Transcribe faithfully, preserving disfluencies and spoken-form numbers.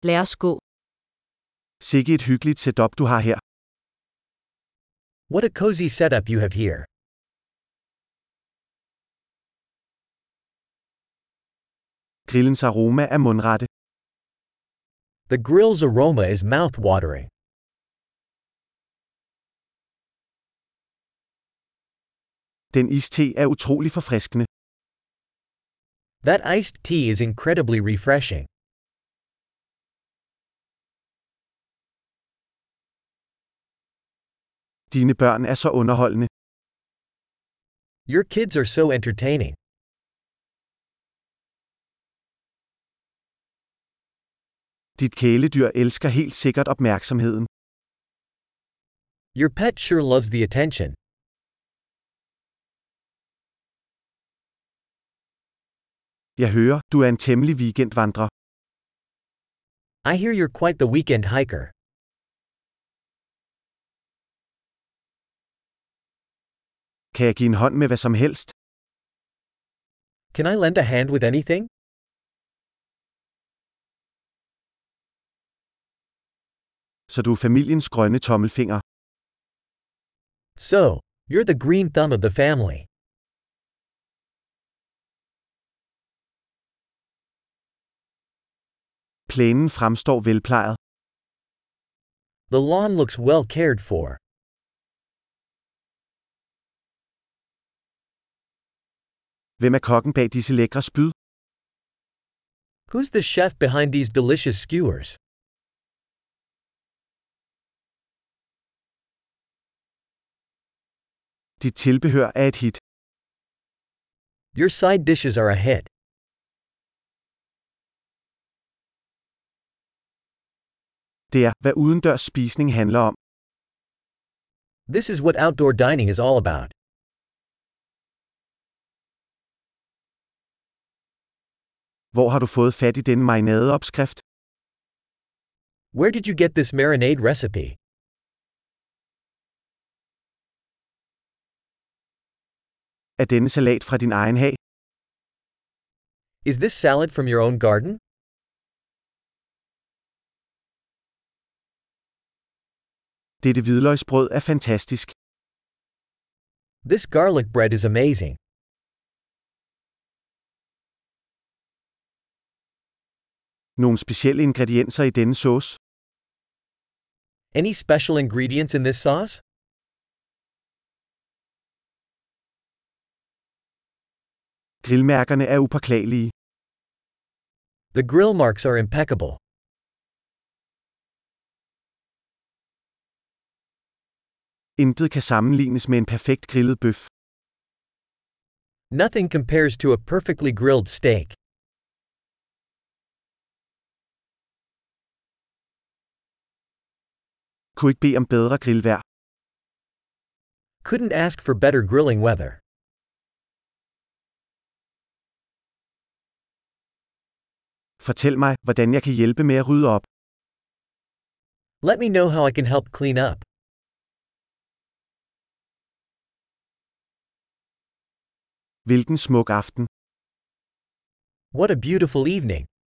Lad os gå. Sikke et hyggeligt setup du har her. What a cozy setup you have here. Grillens aroma er mundrette. The grill's aroma is mouth-watering. Den iste er utrolig forfriskende. That iced tea is incredibly refreshing. Dine børn er så underholdende. Your kids are so entertaining. Dit kæledyr elsker helt sikkert opmærksomheden. Your pet sure loves the attention. Jeg hører, du er en temmelig weekendvandrer. I hear you're quite the weekend hiker. Kan jeg give en hånd med hvad som helst? Can I lend a hand with anything? Så du er familiens grønne tommelfinger. So, you're the green thumb of the family. Plænen fremstår velplejet. The lawn looks well cared for. Hvem er kokken bag disse lækre spyd? Who's the chef behind these delicious skewers? Dit tilbehør er et hit. Your side dishes are a hit. Det er, hvad udendørs spisning handler om. This is what outdoor dining is all about. Hvor har du fået fat i denne marinadeopskrift? Where did you get this marinade recipe? Er denne salat fra din egen hag? Is this salad from your own garden? Dette hvidløgsbrød er fantastisk. This garlic bread is amazing. Nogle specielle ingredienser i denne sauce? Any special ingredients in this sauce? Grillmærkerne er upåklagelige. The grill marks are impeccable. Intet kan sammenlignes med en perfekt grillet bøf. Nothing compares to a perfectly grilled steak. Kunne ikke bede om bedre grillvejr. Couldn't ask for better grilling weather. Fortæl mig, hvordan jeg kan hjælpe med at rydde op. Let me know how I can help clean up. Hvilken smuk aften. What a beautiful evening.